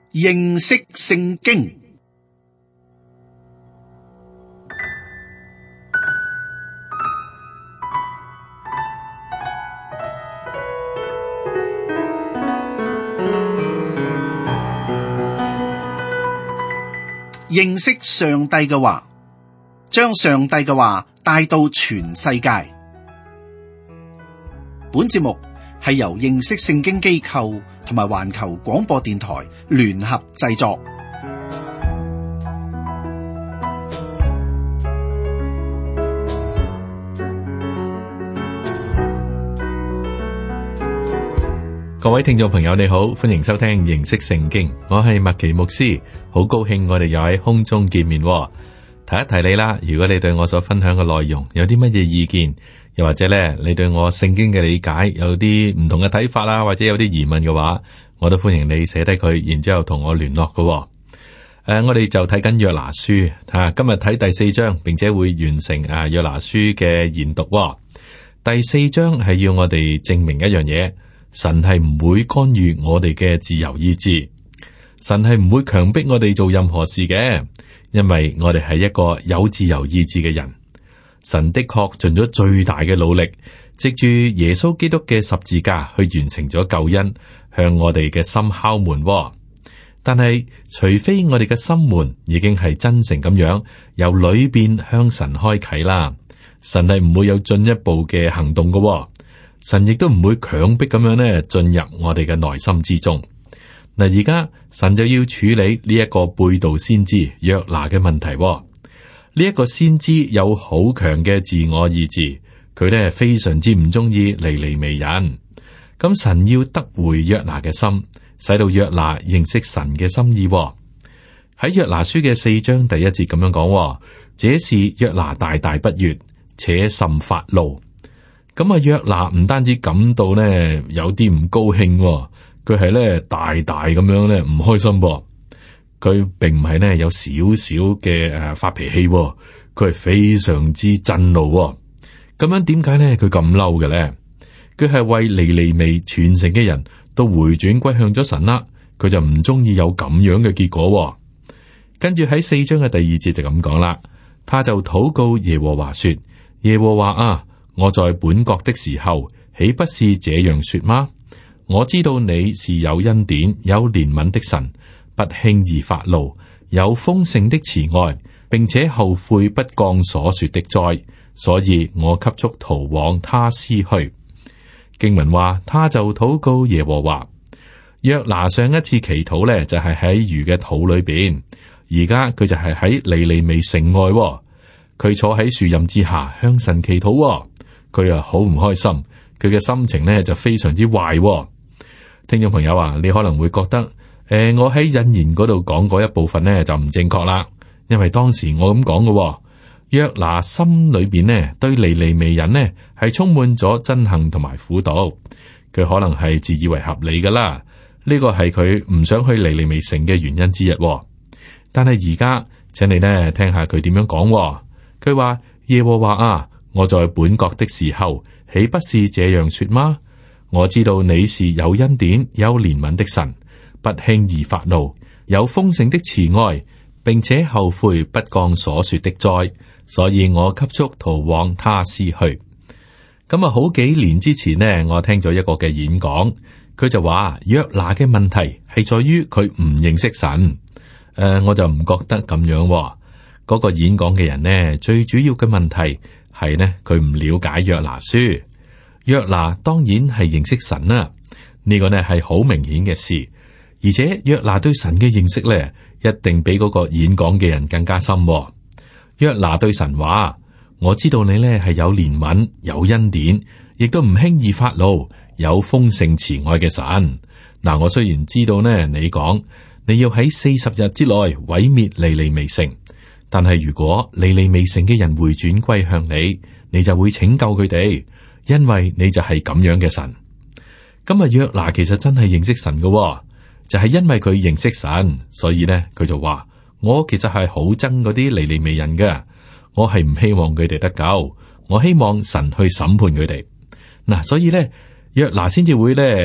認識聖經。認識上帝嘅話，將上帝嘅話帶到全世界。本節目係由認識聖經機構同埋環球廣播電台聯合製作。 各位聽眾朋友，你好，歡迎收聽認識聖經。我係麥奇牧師，好高興我哋又喺空中見面。提一提你啦，如果你對我所分享嘅內容有啲乜嘢意見，又或者咧你對我聖經嘅理解有啲唔同嘅睇法啦，或者有啲疑問嘅話，我都歡迎你寫低佢，然之後同我聯絡嘅。我哋就睇緊約拿書，今日睇第4章，並且會完成約拿書嘅研讀。第4章係要我哋證明一樣嘢。神係唔會干預我哋嘅自由意志，神係唔會強迫我哋做任何事嘅，因為我哋係一個有自由意志嘅人。神的確盡咗最大嘅努力，藉住耶穌基督嘅十字架去完成咗救恩，向我哋嘅心敲門。但係除非我哋嘅心門已經係真誠咁樣由裏邊向神開啟啦，神係唔會有進一步嘅行動嘅。神亦都唔會強迫咁樣咧進入我哋嘅內心之中。嗱，而家神就要處理呢一個背道先知約拿嘅問題。呢一個先知有好強嘅自我意志，佢咧非常之唔中意尼尼微人。咁神要得回約拿嘅心，使到約拿認識神嘅心意。喺約拿書嘅4章第1節咁樣講，這事約拿大大不悅，且甚發怒。咁約拿唔單止感到呢有啲唔高興，佢係咧大大咁樣咧唔開心。佢並唔係呢有少少嘅發脾氣，佢係非常之震怒。咁樣點解呢？佢咁嬲嘅咧？佢係為尼尼微全城嘅人都回轉歸向咗神啦，佢就唔中意有咁樣嘅結果。跟住喺4章嘅第2節就咁講啦，他就禱告耶和華說：耶和華啊！我在本國的時候，豈不是這樣說嗎？我知道你是有恩典、有憐憫的神，不輕易發怒，有豐盛的慈愛，並且後悔不降所說的災，所以我急速逃往他施去。經文話，他就禱告耶和華。約拿上一次祈禱呢，就係喺魚嘅肚裏邊，而家佢就係喺尼尼微城外，佢坐喺樹蔭之下向神祈禱。佢啊好唔開心，佢嘅心情呢就非常之壞。聽眾朋友啊，你可能會覺得，我喺引言嗰度講嗰一部分呢就唔正確啦，因為當時我咁講嘅。約拿心裏邊呢對尼尼微人呢係充滿咗憎恨同埋苦毒，佢可能係自以為合理噶啦，呢個係佢唔想去尼尼微城嘅原因之一。但係而家，請你呢聽下佢點樣講。佢話，耶和華啊！我在本國的時候，豈不是這樣說嗎？我知道你是有恩典、有憐憫的神，不輕易發怒，有豐盛的慈愛，並且後悔不降所說的災，所以我急速逃往他施去。咁啊，好幾年之前呢，我聽咗一個嘅演講，佢就話約拿嘅問題係在於佢唔認識神。我就唔覺得咁樣。嗰個演講嘅人呢，最主要嘅問題係呢，佢唔了解約拿書。約拿當然係認識神啦，呢個呢係好明顯嘅事。而且約拿對神嘅認識呢，一定比嗰個演講嘅人更加深。約拿對神話：我知道你呢係有憐憫、有恩典，亦都唔輕易發怒，有豐盛慈愛嘅神。嗱，我雖然知道呢，你講你要喺40日之內毀滅尼尼微城。但係如果尼尼微城嘅人回轉歸向你，你就會拯救佢哋，因為你就係咁樣嘅神。咁啊，約拿其實真係認識神嘅，就係因為佢認識神，所以呢，佢就話：我其實係好憎嗰啲尼尼微人嘅，我係唔希望佢哋得救，我希望神去審判佢哋。嗱，所以呢，約拿先至會呢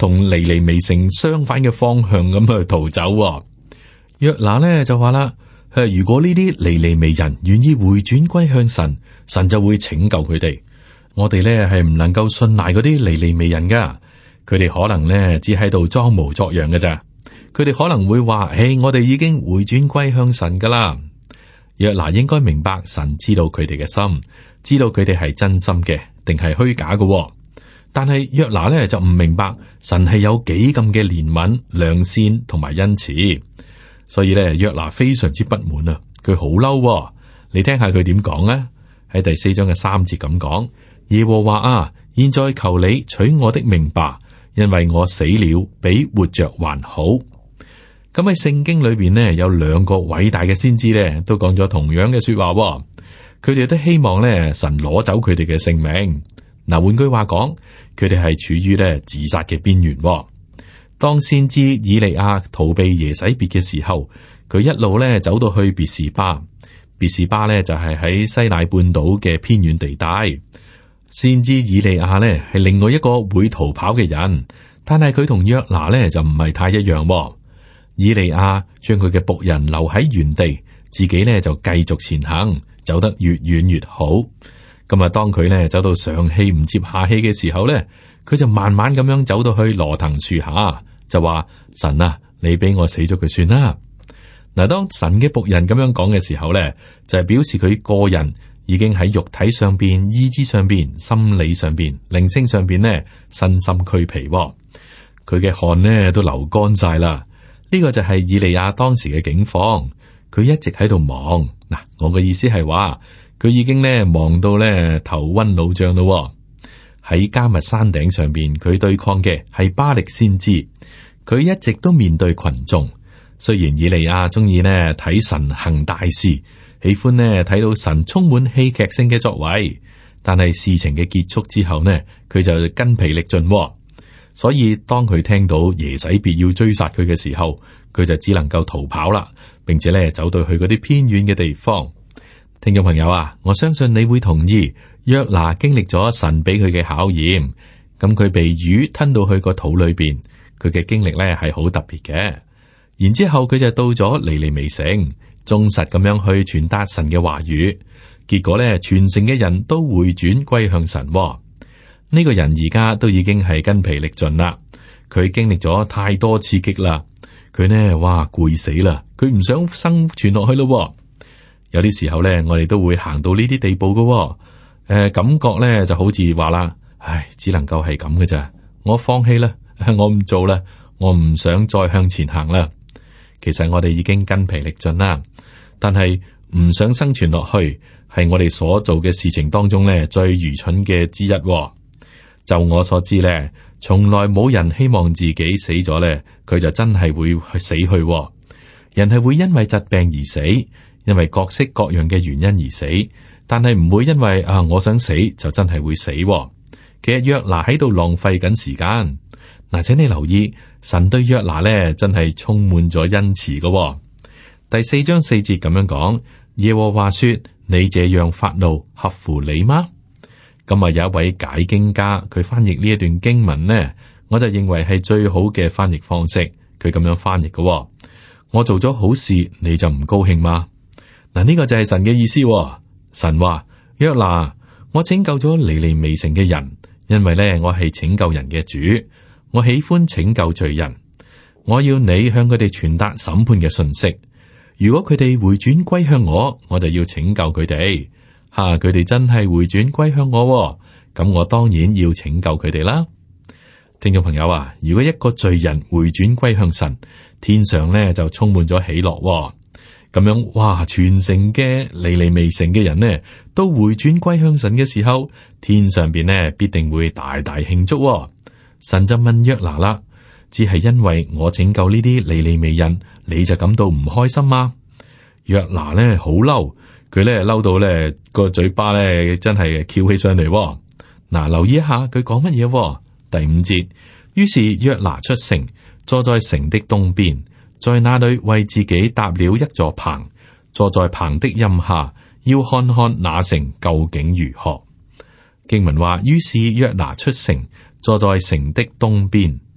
同尼尼微城相反嘅方向咁去逃走。約拿呢就話啦，如果呢啲尼尼微人願意回轉歸向神，神就會拯救佢哋。我哋呢係唔能夠信賴嗰啲尼尼微人噶，佢哋可能呢只喺度裝模作樣嘅咋。佢哋可能會話：我哋已經回轉歸向神噶啦。約拿應該明白神知道佢哋嘅心，知道佢哋係真心嘅定係虛假嘅。但係約拿呢就唔明白神係有幾咁嘅憐憫、良善同埋恩慈，所以呢，約拿非常之不滿啊！佢好嬲。你聽下佢點講啊？喺第4章嘅3節咁講：耶和華啊，現在求你取我的命吧，因為我死了比活着還好。咁喺聖經裏邊呢，有2個偉大嘅先知呢，都講咗同樣嘅說話。佢哋都希望呢，神攞走佢哋嘅性命。嗱，換句話講，佢哋係處於呢自殺嘅邊緣。當先知以利亞逃避耶洗別嘅時候，佢一路呢走到去別是巴。別是巴呢就係喺西乃半島嘅偏遠地帶。先知以利亞呢係另外一個會逃跑嘅人，但係佢同約拿呢就唔係太一樣。以利亞將佢嘅僕人留喺原地，自己呢就繼續前行，走得越遠越好。咁啊，當佢呢走到上氣唔接下氣嘅時候呢，佢就慢慢咁樣走到去羅藤樹下，就話：神啊，你俾我死咗佢算啦。嗱，當神嘅僕人咁樣講嘅時候呢，就係表示佢個人已經喺肉體上邊、意志上邊、心理上邊、靈性上邊呢身心俱疲，佢嘅汗呢都流乾晒啦。呢個就係以利亞當時嘅境況，佢一直喺度忙。嗱，我嘅意思係話，佢已經呢忙到呢頭昏腦脹咯。喺迦密山頂上邊，佢對抗嘅係巴力先知，佢一直都面對群眾。雖然以利亞中意呢睇神行大事，喜歡呢睇到神充滿戲劇性嘅作為，但係事情嘅結束之後呢，佢就筋疲力盡。所以當佢聽到耶洗別要追殺佢嘅時候，佢就只能夠逃跑啦，並且咧走到去嗰啲偏遠嘅地方。聽眾朋友啊，我相信你會同意，約拿經歷咗神俾佢嘅考驗，咁佢被魚吞到去個肚裏邊，佢嘅經歷咧係好特別嘅。然之後佢就到咗尼尼微城，忠實咁樣去傳達神嘅話語，結果咧全城嘅人都回轉歸向神。呢個人而家都已經係筋疲力盡啦，佢經歷咗太多刺激啦，佢呢哇攰死啦，佢唔想生存落去咯。有啲時候咧，我哋都會行到呢啲地步噶。感覺咧就好似話啦，唉，只能夠係咁嘅咋，我放棄啦，我唔做啦，我唔想再向前行啦。其實我哋已經筋疲力盡啦，但係唔想生存落去，係我哋所做嘅事情當中咧最愚蠢嘅之一。就我所知咧，從來冇人希望自己死咗咧，佢就真係會去死去。人係會因為疾病而死，因為各式各樣嘅原因而死，但係唔會因為我想死就真係會死。其實約拿喺度浪費緊時間。嗱，請你留意，神對約拿咧真係充滿咗恩慈嘅。第4章4節咁樣講，耶和華說：你這樣發怒合乎理嗎？咁啊，有一位解經家，佢翻譯呢一段經文呢，我就認為係最好嘅翻譯方式。佢咁樣翻譯嘅：我做咗好事，你就唔高興嗎？嗱，呢個就係神嘅意思。神話：約拿，我拯救咗尼尼微城嘅人，因為呢，我係拯救人嘅主，我喜歡拯救罪人。我要你向佢哋傳達審判嘅信息。如果佢哋回轉歸向我，我就要拯救佢哋。佢哋真係回轉歸向我，咁我當然要拯救佢哋啦。聽眾朋友啊，如果一個罪人回轉歸向神，天上呢就充滿咗喜樂。咁樣，哇！全城嘅尼尼微城嘅人呢，都回轉歸向神嘅時候，天上邊呢必定會大大慶祝。神就問約拿啦：只係因為我拯救呢啲尼尼微人，你就感到唔開心嗎？約拿呢好嬲。佢咧嬲到咧個嘴巴咧真係翹起上嚟。嗱，留意一下佢講乜嘢？第5節，於是約拿出城，坐在城的東邊，在那裏為自己搭了一座棚，坐在棚的蔭下，要看看那城究竟如何。經文話，於是約拿出城，坐在城的東邊。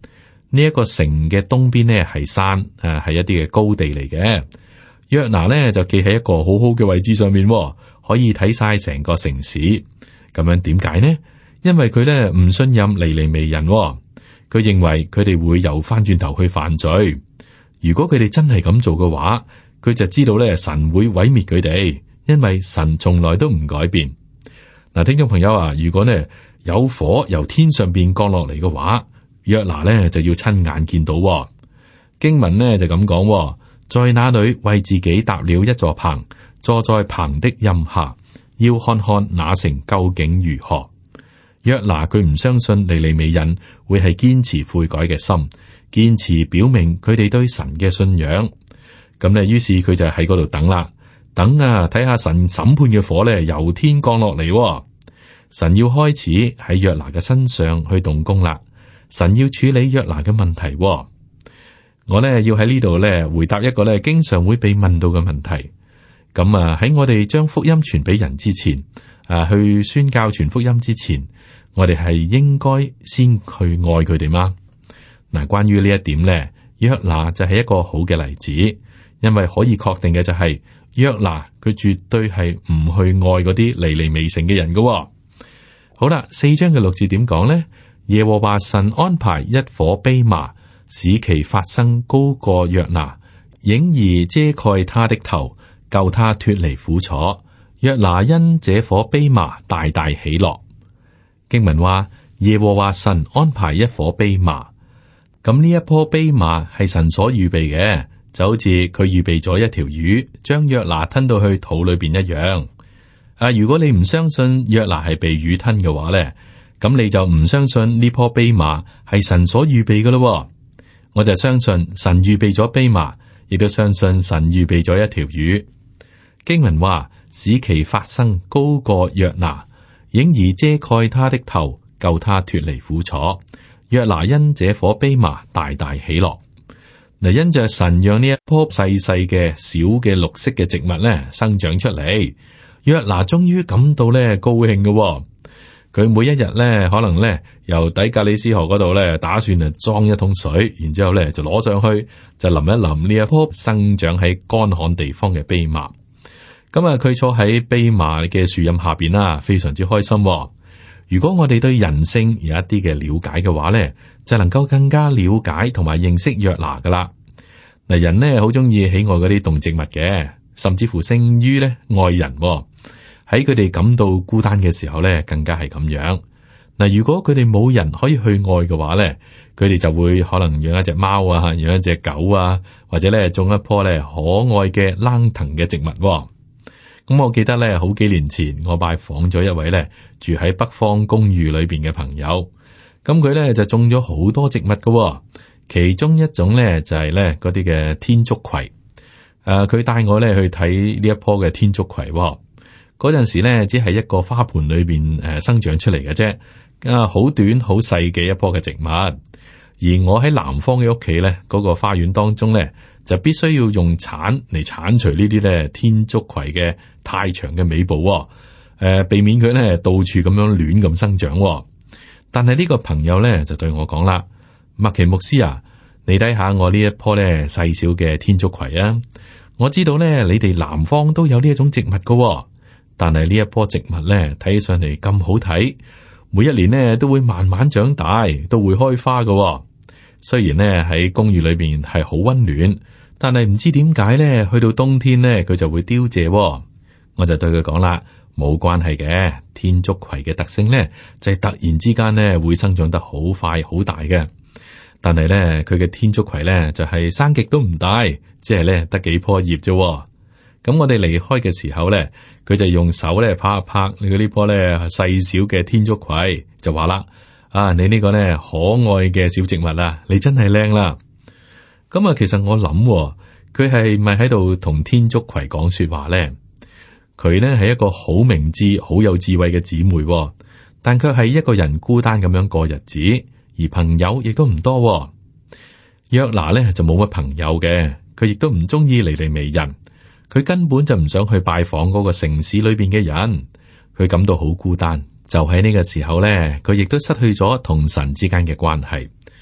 呢一個城嘅東邊呢係山，係一啲嘅高地嚟嘅。約拿呢就企喺一個好好嘅位置上面，可以睇晒成個城市。咁樣點解呢？因為佢呢唔信任尼尼微人，佢認為佢哋會又翻轉頭去犯罪。如果佢哋真係咁做嘅話，佢就知道咧神會毀滅佢哋，因為神從來都唔改變。嗱，聽眾朋友啊，如果呢有火由天上邊降落嚟嘅話，約拿呢就要親眼見到。經文呢就咁講，在那裏為自己搭了一座棚，坐在棚的蔭下，要看看那城究竟如何。約拿佢唔相信尼尼微人會係堅持悔改嘅心，堅持表明佢哋對神嘅信仰。咁呢，於是佢就喺嗰度等啦，等啊，睇下神審判嘅火呢由天降落嚟。神要開始喺約拿嘅身上去動工啦。神要處理約拿嘅問題。我呢要喺呢度呢回答一個呢經常會被問到嘅問題。咁啊，喺我哋將福音傳俾人之前，去宣教傳福音之前，我哋係應該先去愛佢哋嗎？嗱，關於呢一點呢，約拿就係一個好嘅例子，因為可以確定嘅就係約拿佢絕對係唔去愛嗰啲尼尼微城嘅人㗎。好啦，4章嘅6節點講呢？耶和華神安排一顆蓖麻，使其發生高過約拿，影兒遮蓋他的頭，救他脫離苦楚。約拿因這顆蓖麻大大喜樂。經文話耶和華神安排一顆蓖麻，咁呢一棵蓖麻係神所預備嘅，就好似佢預備咗一條魚，將約拿吞到去肚裏邊一樣。如果你唔相信約拿係被魚吞嘅話咧，咁你就唔相信呢棵蓖麻係神所預備嘅咯。我就相信神預備咗蓖麻，亦都相信神預備咗一條魚。經文話使其發生高過約拿，影兒遮蓋他的頭，救他脫離苦楚。約拿因這顆蓖麻大大喜樂。嗱，因着神讓呢一棵細細嘅小嘅綠色嘅植物咧生長出嚟，約拿終於感到咧高興嘅。佢每一日咧可能咧由底格里斯河嗰度咧打算啊裝一桶水，然之後咧就攞上去就淋一淋呢一棵生長喺乾旱地方嘅蓖麻。咁啊，佢坐喺蓖麻嘅樹蔭下邊啦，非常之開心。如果我哋對人性有一啲嘅了解嘅話咧，就能夠更加了解同埋認識約拿噶啦。嗱，人呢好中意喜愛嗰啲動植物嘅，甚至乎勝於咧愛人。喺佢哋感到孤單嘅時候咧，更加係咁樣。嗱，如果佢哋冇人可以去愛嘅話咧，佢哋就會可能養一隻貓啊，養一隻狗啊，或者咧種一棵咧可愛嘅冷藤嘅植物。咁我記得咧，好幾年前我拜訪咗一位咧住喺北方公寓裏邊嘅朋友，咁佢咧就種咗好多植物㗎，其中一種咧就係咧嗰啲嘅天竺葵。佢帶我咧去睇呢一棵嘅天竺葵。嗰陣時咧，只係一個花盆裏邊生長出嚟嘅啫，好短好細嘅一棵嘅植物。而我喺南方嘅屋企咧，嗰個花園當中咧，就必須要用鏟嚟鏟除呢啲咧天竺葵嘅太長嘅尾部，避免佢咧到處咁樣亂咁生長。但係呢個朋友咧就對我講啦，麥奇牧師啊，你睇下我呢一棵咧細小嘅天竺葵啊，我知道咧你哋南方都有呢一種植物噶。但係呢一棵植物咧，睇起上嚟咁好睇，每一年呢都會慢慢長大，都會開花㗎。雖然呢喺公寓裏邊係好溫暖，但係唔知點解咧，去到冬天呢，佢就會凋謝。我就對佢講啦，冇關係嘅，天竺葵嘅特性咧就係突然之間呢會生長得好快好大嘅。但係咧佢嘅天竺葵咧就係生極都唔大，即係咧得幾棵葉啫。咁我哋離開嘅時候咧，佢就用手咧拍一拍你呢棵咧細小嘅天竺葵，就話啦：你呢個咧可愛嘅小植物啊，你真係靚啦！咁啊，其實我諗佢係咪喺度同天竺葵講說話咧？佢呢係一個好明智、好有智慧嘅姊妹，但卻係一個人孤單咁樣過日子，而朋友亦都唔多。約拿咧就冇乜朋友嘅，佢亦都唔中意尼尼微人。佢根本就唔想去拜訪嗰個城市裏邊嘅人，佢感到好孤單。就喺呢個時候咧，佢亦都失去咗同神之間嘅關係。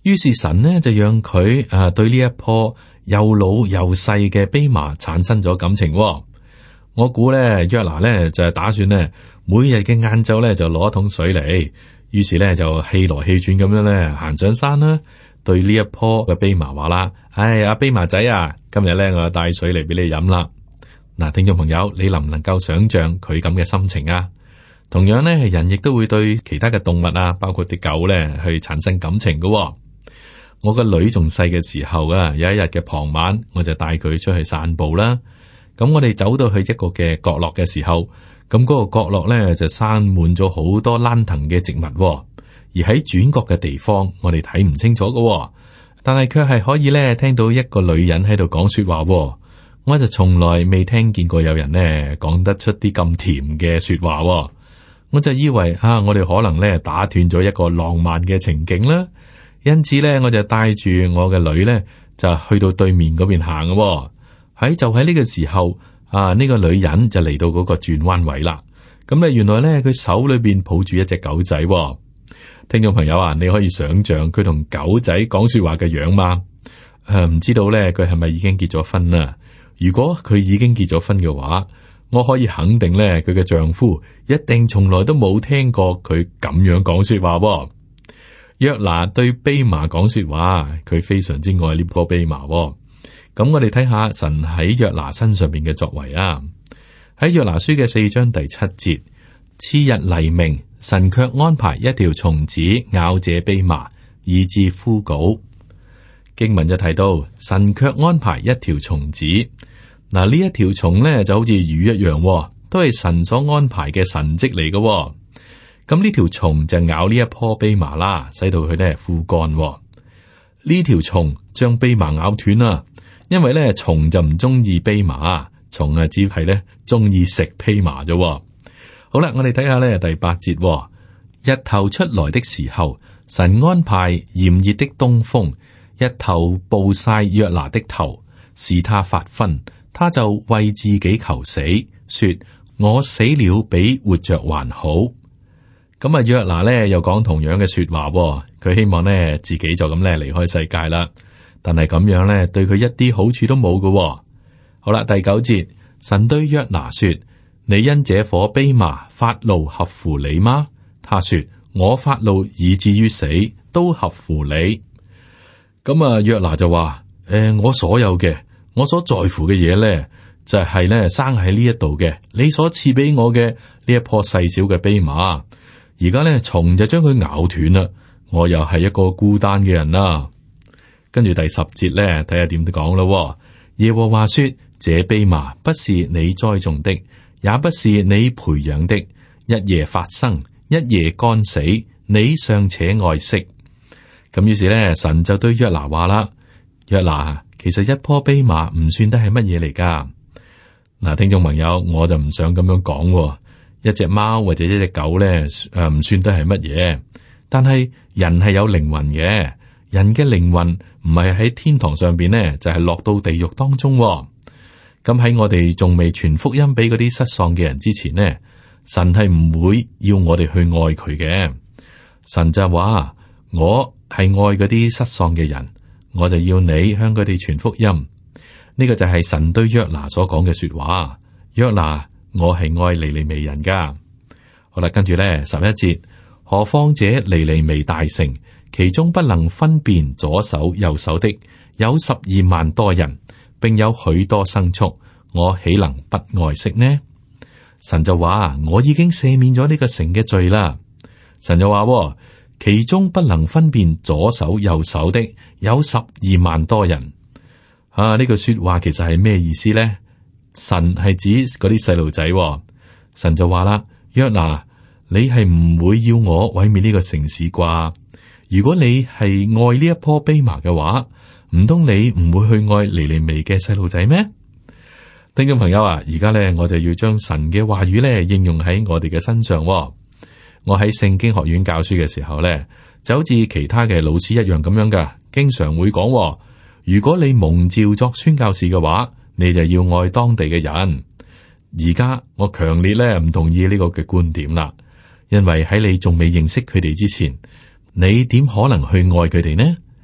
於是神呢就讓佢對呢一棵又老又細嘅蓖麻產生咗感情。我估咧約拿咧就係打算咧每日嘅晏晝咧就攞一桶水嚟，於是咧就氣來氣轉咁樣咧行上山啦。對呢一棵嘅蓖麻話啦，阿蓖麻仔啊，今日咧我帶水嚟俾你飲啦。嗱，聽眾朋友，你能唔能夠想象佢咁嘅心情啊？同樣咧，人亦都會對其他嘅動物啊，包括啲狗咧，去產生感情嘅。我個女仲細嘅時候啊，有一日嘅傍晚，我就帶佢出去散步啦。咁我哋走到去一個嘅角落嘅時候，咁嗰個角落咧就生滿咗好多蘭藤嘅植物，而喺轉角嘅地方，我哋睇唔清楚嘅，但係卻係可以咧聽到一個女人喺度講說話。我就從來未聽見過有人呢講得出啲咁甜嘅說話，我就以為我哋可能咧打斷咗一個浪漫嘅情景啦。因此咧，我就帶住我嘅女咧就去到對面嗰邊行嘅。喺呢個時候，呢個女人就嚟到嗰個轉彎位啦。咁咧，原來咧佢手裏邊抱住一隻狗仔。聽眾朋友啊，你可以想象佢同狗仔講說話嘅樣嗎？唔知道咧佢係咪已經結咗婚啦？如果佢已經結咗婚嘅話，我可以肯定咧佢嘅丈夫一定從來都冇聽過佢咁樣講說話。約拿對蓖麻講說話，佢非常之愛呢棵蓖麻。咁我哋睇下神喺約拿身上邊嘅作為啊。喺約拿書嘅4章第7節，次日黎明，神卻安排一條蟲子咬這蓖麻，以致枯槁。經文就提到神卻安排一條蟲子。嗱，呢一條蟲咧就好似魚一樣，都係神所安排嘅神蹟嚟嘅。咁呢條蟲就咬呢一棵蓖麻啦，使到佢咧枯乾。呢條蟲將蓖麻咬斷啦，因為咧蟲就唔中意蓖麻，蟲只係咧中意食蓖麻啫。好啦，我哋睇下咧第8節，日頭出來的時候，神安排炎熱的東風，一頭暴曬約拿的頭，使他發昏。他就為自己求死，說：我死了比活着還好。咁約拿咧又講同樣嘅說話，佢希望咧自己就咁咧離開世界啦。但係咁樣咧對佢一啲好處都冇嘅。好啦，第9節，神對約拿說：你因這棵蓖麻發怒合乎你嗎？他說：我發怒以至於死都合乎你。咁約拿就話：我所有嘅。我所在乎嘅嘢咧，就係咧生喺呢一度嘅，你所賜俾我嘅呢一棵細小嘅蓖麻，而家咧蟲就將佢咬斷啦，我又係一個孤單嘅人啦。跟住第10節咧，睇下點講咯。耶和華說：這蓖麻不是你栽種的，也不是你培養的，一夜發生，一夜乾死，你尚且愛惜。咁於是咧，神就對約拿話啦：約拿，其實一棵蓖麻唔算得係乜嘢嚟噶。嗱，聽眾朋友，我就唔想咁樣講。一隻貓或者一隻狗咧，唔算得係乜嘢。但係人係有靈魂嘅，人嘅靈魂唔係喺天堂上邊呢，就係落到地獄當中。咁喺我哋仲未傳福音俾嗰啲失喪嘅人之前呢，神係唔會要我哋去愛佢嘅。神就話：我係愛嗰啲失喪嘅人。我就要你向佢哋傳福音，呢個就係神對約拿所講嘅說話。約拿，我係愛尼尼微人噶。好啦，跟住咧11節，何況這尼尼微大城，其中不能分辨左手右手的有12萬多人，並有許多牲畜，我豈能不愛惜呢？神就話：我已經赦免咗呢個城嘅罪啦。神就話：其中不能分辨左手右手的有12萬多人。呢句說話其實係咩意思咧？神係指嗰啲細路仔。神就話啦：約拿，你係唔會要我毀滅呢個城市啩？如果你係愛呢一棵蓖麻嘅話，唔通你唔會去愛尼尼微嘅細路仔咩？聽眾朋友啊，而家咧我就要將神嘅話語咧應用喺我哋嘅身上。我喺聖經學院教書嘅時候咧，就好似其他嘅老師一樣咁樣噶，經常會講：如果你蒙召作宣教士嘅話，你就要愛當地嘅人。而家我強烈咧唔同意呢個嘅觀點啦，因為喺你仲未認識佢哋之前，你點可能去愛佢哋呢？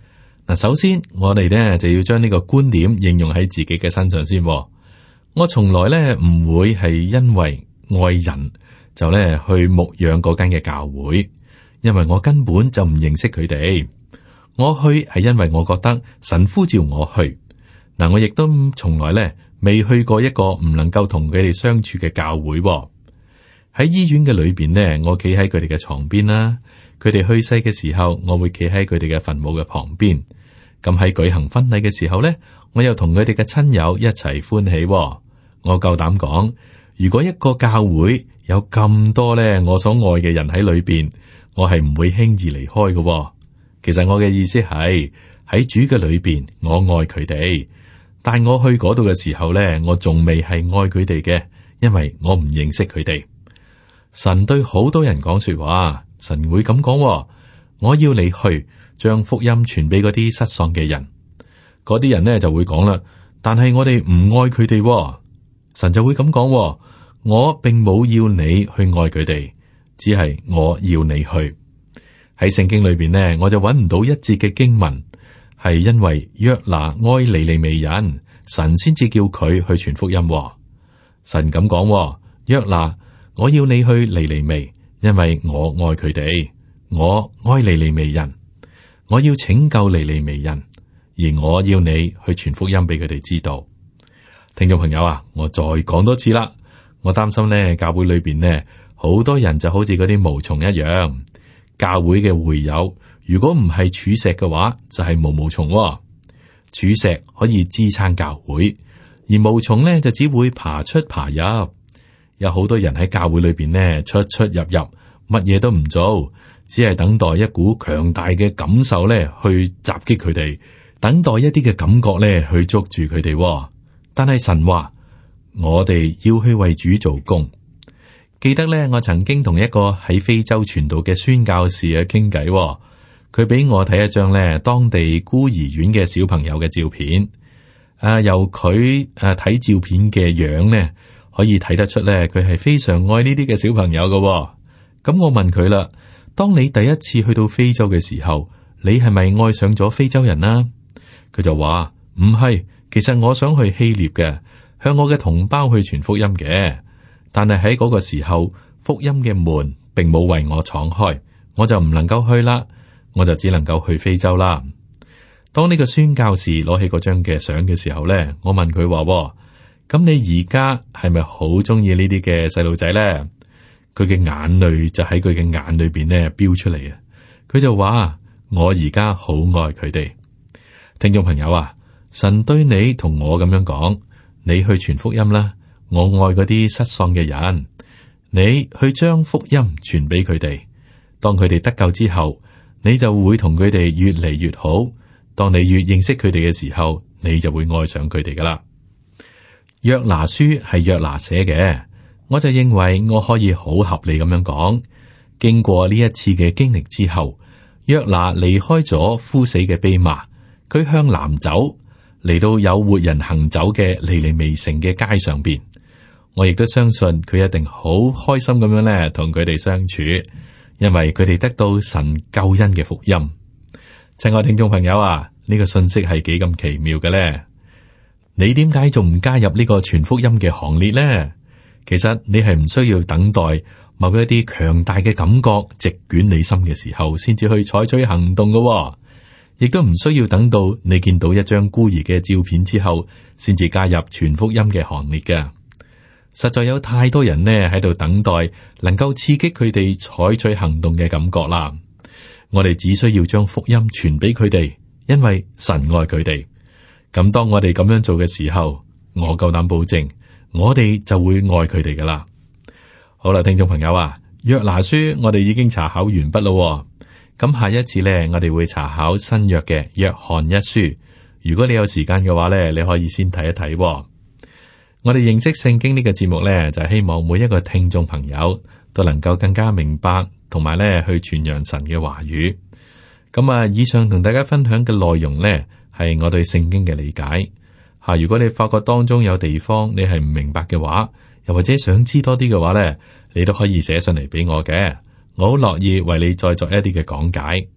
嗱，首先我哋咧就要將呢個觀點應用喺自己嘅身上先。我從來咧唔會係因為愛人就咧去牧養嗰間嘅教會，因為我根本就唔認識佢哋。我去係因為我覺得神呼召我去。嗱，我亦都從來咧未去過一個唔能夠同佢哋相處嘅教會。喺醫院嘅裏邊呢，我企喺佢哋嘅床邊啦。佢哋去世嘅時候，我會企喺佢哋嘅墳墓嘅旁邊。咁喺舉行婚禮嘅時候呢，我又同佢哋嘅親友一齊歡喜。我夠膽講，如果一個教會有咁多咧我所愛嘅人喺裏邊，我係唔會輕易離開嘅。其實我嘅意思係喺主嘅裏邊，我愛佢哋，但我去嗰度嘅時候咧，我仲未係愛佢哋嘅，因為我唔認識佢哋。神對好多人講說話，神會咁講：我要你去將福音傳俾嗰啲失喪嘅人。嗰啲人呢就會講啦，但係我哋唔愛佢哋。神就會咁講：我並冇要你去愛佢哋，只係我要你去。喺聖經裏邊呢，我就揾唔到一節嘅經文係因為約拿愛尼尼微人，神先至叫佢去傳福音。神咁講：約拿，我要你去尼尼微，因為我愛佢哋，我愛尼尼微人，我要拯救尼尼微人，而我要你去傳福音俾佢哋知道。聽眾朋友啊，我再講多次啦，我擔心呢教會裏邊呢好多人就好似嗰啲毛蟲一樣，教會嘅會友如果唔係柱石嘅話，就係毛毛蟲。柱石可以支撐教會，而毛蟲呢就只會爬出爬入。有好多人喺教會裏邊呢出出入入，乜嘢都唔做，只係等待一股強大嘅感受呢去襲擊佢哋，等待一啲嘅感覺呢去捉住佢哋。但係神話我哋要去為主做工。記得呢，我曾經同一個喺非洲傳道嘅宣教士啊傾偈，佢俾我睇一張呢當地孤兒院嘅小朋友嘅照片。由佢睇照片嘅樣呢，可以睇得出咧，佢係非常愛呢啲嘅小朋友嘅。咁我問佢啦，當你第一次去到非洲嘅時候，你係咪愛上咗非洲人啊？佢就話唔係，其實我想去希臘嘅，向我嘅同胞去傳福音嘅。但係喺嗰個時候，福音嘅門並冇為我敞開，我就唔能夠去啦，我就只能夠去非洲啦。當呢個宣教士攞起嗰張嘅相嘅時候咧，我問佢話：咁你而家係咪好中意呢啲嘅細路仔咧？佢嘅眼淚就喺佢嘅眼裏邊咧飆出嚟啊！佢就話：我而家好愛佢哋。聽眾朋友啊，神對你同我咁樣講，你去傳福音啦。我愛嗰啲失喪嘅人，你去將福音傳俾佢哋。當佢哋得救之後，你就會同佢哋越嚟越好。當你越認識佢哋嘅時候，你就會愛上佢哋噶啦。約拿書係約拿寫嘅，我就認為我可以好合理咁樣講。經過呢一次嘅經歷之後，約拿離開咗枯死嘅蓖麻，佢向南走，嚟到有活人行走嘅尼尼微城嘅街上邊。我亦都相信佢一定好開心咁樣咧，同佢哋相處，因為佢哋得到神救恩嘅福音。親愛聽眾朋友啊，呢個信息係幾咁奇妙嘅咧？你點解仲唔加入呢個傳福音嘅行列呢？其實你係唔需要等待某一啲強大嘅感覺席捲你心嘅時候，先至去採取行動嘅，亦都唔需要等到你見到一張孤兒嘅照片之後，先至加入傳福音嘅行列嘅。實在有太多人呢喺度等待能夠刺激佢哋採取行動嘅感覺啦。我哋只需要將福音傳俾佢哋，因為神愛佢哋。咁當我哋咁樣做嘅時候，我夠膽保證，我哋就會愛佢哋噶啦。好啦，聽眾朋友啊，約拿書我哋已經查考完畢咯。咁下一次呢，我哋會查考新約嘅約翰一書。如果你有時間嘅話呢，你可以先睇一睇。我哋認識聖經呢個節目呢，就係希望每一個聽眾朋友都能夠更加明白，同埋呢去傳揚神嘅話語。咁啊，以上同大家分享嘅內容呢，係我對聖經嘅理解。如果你發覺當中有地方你係唔明白嘅話，又或者想知多啲嘅話呢，你都可以寫上嚟俾我嘅，我好樂意為你再作一啲嘅講解。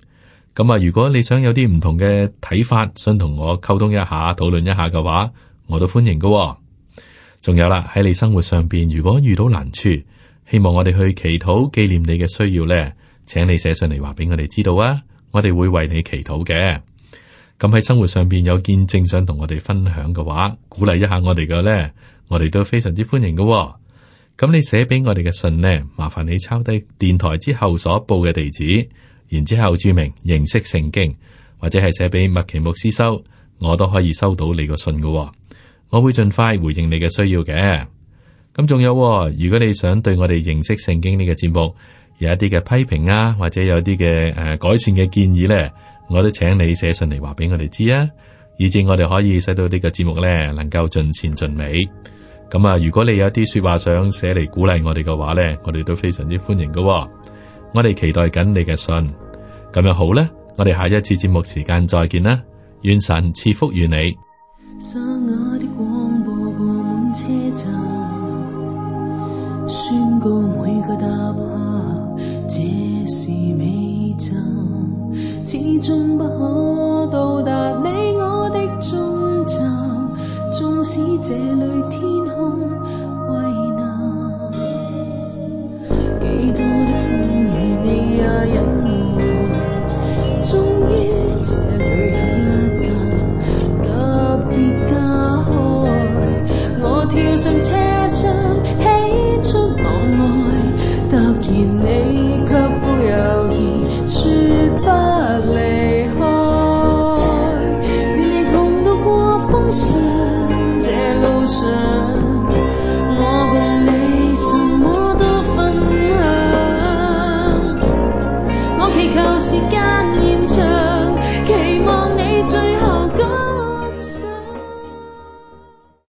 咁啊，如果你想有啲唔同嘅睇法，想同我溝通一下、討論一下嘅話，我都歡迎㗎。仲有啦，喺你生活上邊，如果遇到難處，希望我哋去祈禱紀念你嘅需要咧，請你寫上嚟話俾我哋知道啊，我哋會為你祈禱嘅。咁喺生活上邊有見證想同我哋分享嘅話，鼓勵一下我哋嘅咧，我哋都非常之歡迎㗎。咁你寫俾我哋嘅信呢，麻煩你抄低電台之後所報嘅地址，然之後注明認識聖經，或者係寫俾麥奇牧師收，我都可以收到你個信㗎。我會盡快回應你嘅需要嘅。咁仲有，如果你想對我哋認識聖經呢個節目有一啲嘅批評啊，或者有啲嘅改善嘅建議呢，我都請你寫信嚟話俾我哋知啊，以至我哋可以使到呢個節目呢能夠盡善盡美。咁啊，如果你有啲說話想寫嚟鼓勵我哋嘅話呢，我哋都非常之歡迎㗎。我哋期待緊你嘅信。咁樣好啦，我哋下一次節目時間再見啦，願神賜福於你。 沙啞的廣播播滿車站，宣告每個搭客這是尾站，始終不可到達你我的終站，縱使這裏天空蔚藍，幾多的風雨你也隱瞞，終於這裏有一間特別家開，我跳上車廂喜出望外，突然你卻不猶豫說不離開，願你同渡過風霜，這路上我共你什麼都分享，我祈求時間